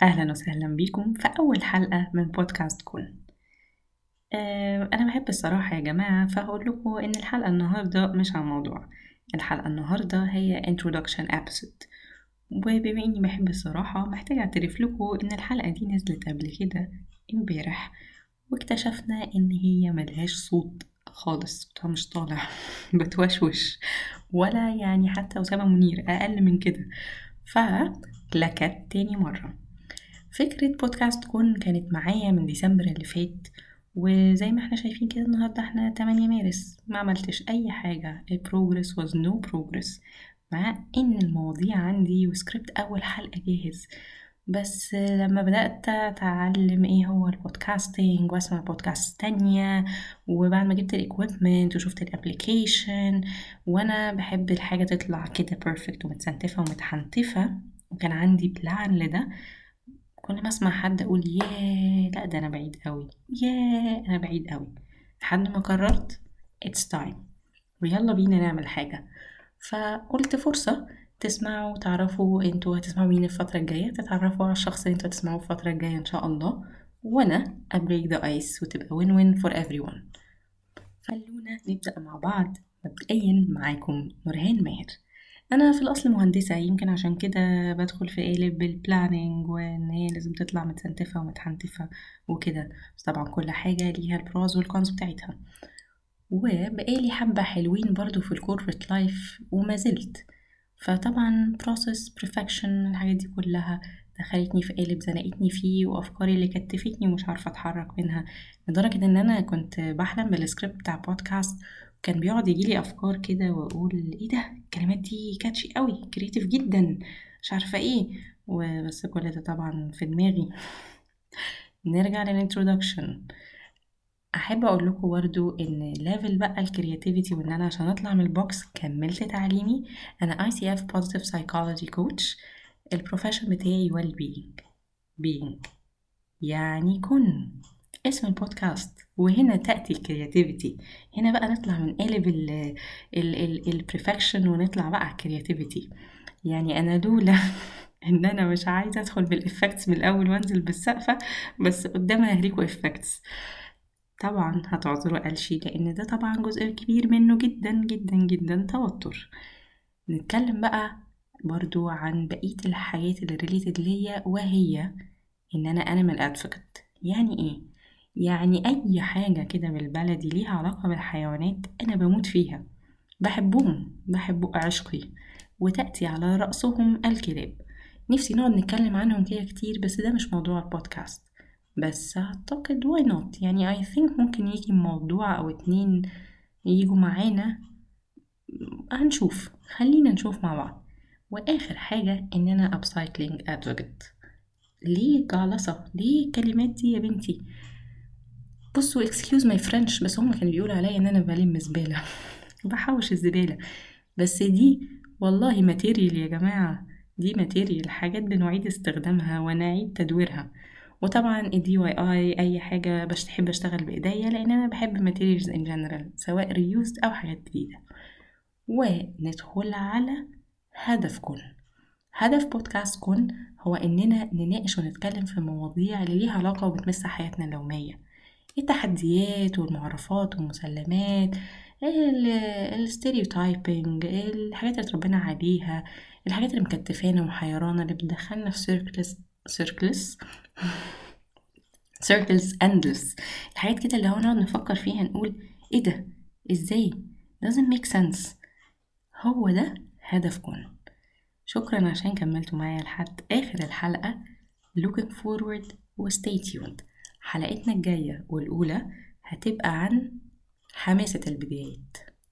أهلا وسهلا بكم في أول حلقة من بودكاست كون. أنا بحب الصراحة يا جماعة، فهقول لكم إن الحلقة النهاردة مش عن موضوع. الحلقة النهاردة هي introduction episode، وبما إني بحب الصراحة محتاجة أعترف لكم إن الحلقة دي نزلت قبل كده امبارح، واكتشفنا إن هي ملهاش صوت خالص، صوتها مش طالع بتوشوش ولا يعني حتى أسامة منير أقل من كده. فلكت تاني مرة فكرة بودكاست كون كانت معايا من ديسمبر اللي فات، وزي ما احنا شايفين كده النهاردة احنا 8 مارس ما عملتش اي حاجة. progress was no progress، مع ان المواضيع عندي وسكريبت اول حلقة جاهز. بس لما بدأت أتعلم إيه هو البودكاستينج وأسمع بودكاست تانية، وبعد ما جبت الإكويبمنت وشفت الابليكيشن، وأنا بحب الحاجة تطلع كده بيرفكت ومتسنتفة ومتحنتفة، وكان عندي بلان لده. كل ما اسمع حد اقول ياه لا ده انا بعيد قوي، ياه انا بعيد قوي، لحد ما قررت it's time ويلا بينا نعمل حاجة. فقلت فرصة تسمعوا تعرفوا انتوا هتسمعوا مين الفترة الجاية، تتعرفوا على الشخص اللي انتوا هتسمعوه الفترة الجاية ان شاء الله، وانا break the ice وتبقى win-win for everyone. خلونا نبدأ مع بعض. مبدئيا معاكم نورهان ماهر. انا في الاصل مهندسه، يمكن عشان كده بدخل في قالب البلاننج وان هي لازم تطلع متسنتفه ومتحنتفه وكده، بس طبعا كل حاجه ليها البروز والكونز بتاعتها. وبقالي حبه حلوين برضو في الكوربريت لايف وما زلت، فطبعا process perfection الحاجات دي كلها دخلتني في قالب زنقتني فيه، وافكاري اللي كتفتني ومش عارفه اتحرك منها، لدرجه ان انا كنت بحلم بالسكريبت بتاع بودكاست. كان بيقعد يجيلي افكار كده واقول ايه ده، الكلمات دي كاتشي قوي، كريتيف جدا، مش عارفه ايه، وبس كل ده طبعا في دماغي. نرجع للانترودكشن. احب اقول لكم برضو ان ليفل بقى الكرياتيفيتي، وان انا عشان اطلع من البوكس كملت تعليمي. انا ICF Positive Psychology Coach. البروفيشن بتاعي well being يعني كن اسم البودكاست، وهنا تأتي الكرياتيفيتي. هنا بقى نطلع من قالب البرفكشن ونطلع بقى على الكرياتيفيتي. يعني انا لولا ان انا مش عايزه ادخل بالافكتس من الاول وانزل بالسقفه، بس قدامها هريكو افكتس. طبعا هتعذروا قلشي لان ده طبعا جزء كبير منه جدا جدا جدا توتر. نتكلم بقى برضو عن بقية الحاجات اللي ريليتد ليا، وهي ان انا انيمال ادفوكت. يعني ايه؟ يعني اي حاجة كده بالبلدي ليها علاقة بالحيوانات انا بموت فيها، بحبهم، بحب عشقي، وتأتي على رأسهم الكلاب. نفسي نقعد نتكلم عنهم كده كتير، بس ده مش موضوع البودكاست. بس أعتقد why not، يعني I think ممكن يجي موضوع أو اتنين يجوا معانا، هنشوف، خلينا نشوف مع بعض. وآخر حاجة إن أنا upcycling advocate. ليه جعلصة؟ ليه الكلمات دي يا بنتي؟ بصوا excuse my French، بس هما كانوا بيقولوا عليا إن أنا بلم زبالة بحوش الزبالة. بس دي والله ماتيريال يا جماعة، دي ماتيريال، حاجات بنعيد استخدامها ونعيد تدويرها. وطبعا الدي واي اي اي حاجة بحب اشتغل بايديا، لان انا بحب الماتيريالز ان جنرال، سواء ريوزد او حاجات جديدة. وندخل على هدف كون. هدف بودكاست كون هو اننا نناقش ونتكلم في مواضيع اللي ليها علاقة وبتمس حياتنا اليومية، التحديات والمعرفات والمسلمات، الستيريوتايبنج، الحاجات اللي اتربينا عليها، الحاجات اللي مكتفانا ومحيرانا، اللي بتدخلنا في سيركلز اندلس. الحاجات كده اللي هو نقعد نفكر فيها نقول ايه ده، ازاي، doesn't make sense. هو ده هدف كون. شكرا عشان كملتوا معايا لحد اخر الحلقة. looking forward و stay tuned. حلقتنا الجاية والأولى هتبقى عن حماسة البدايات.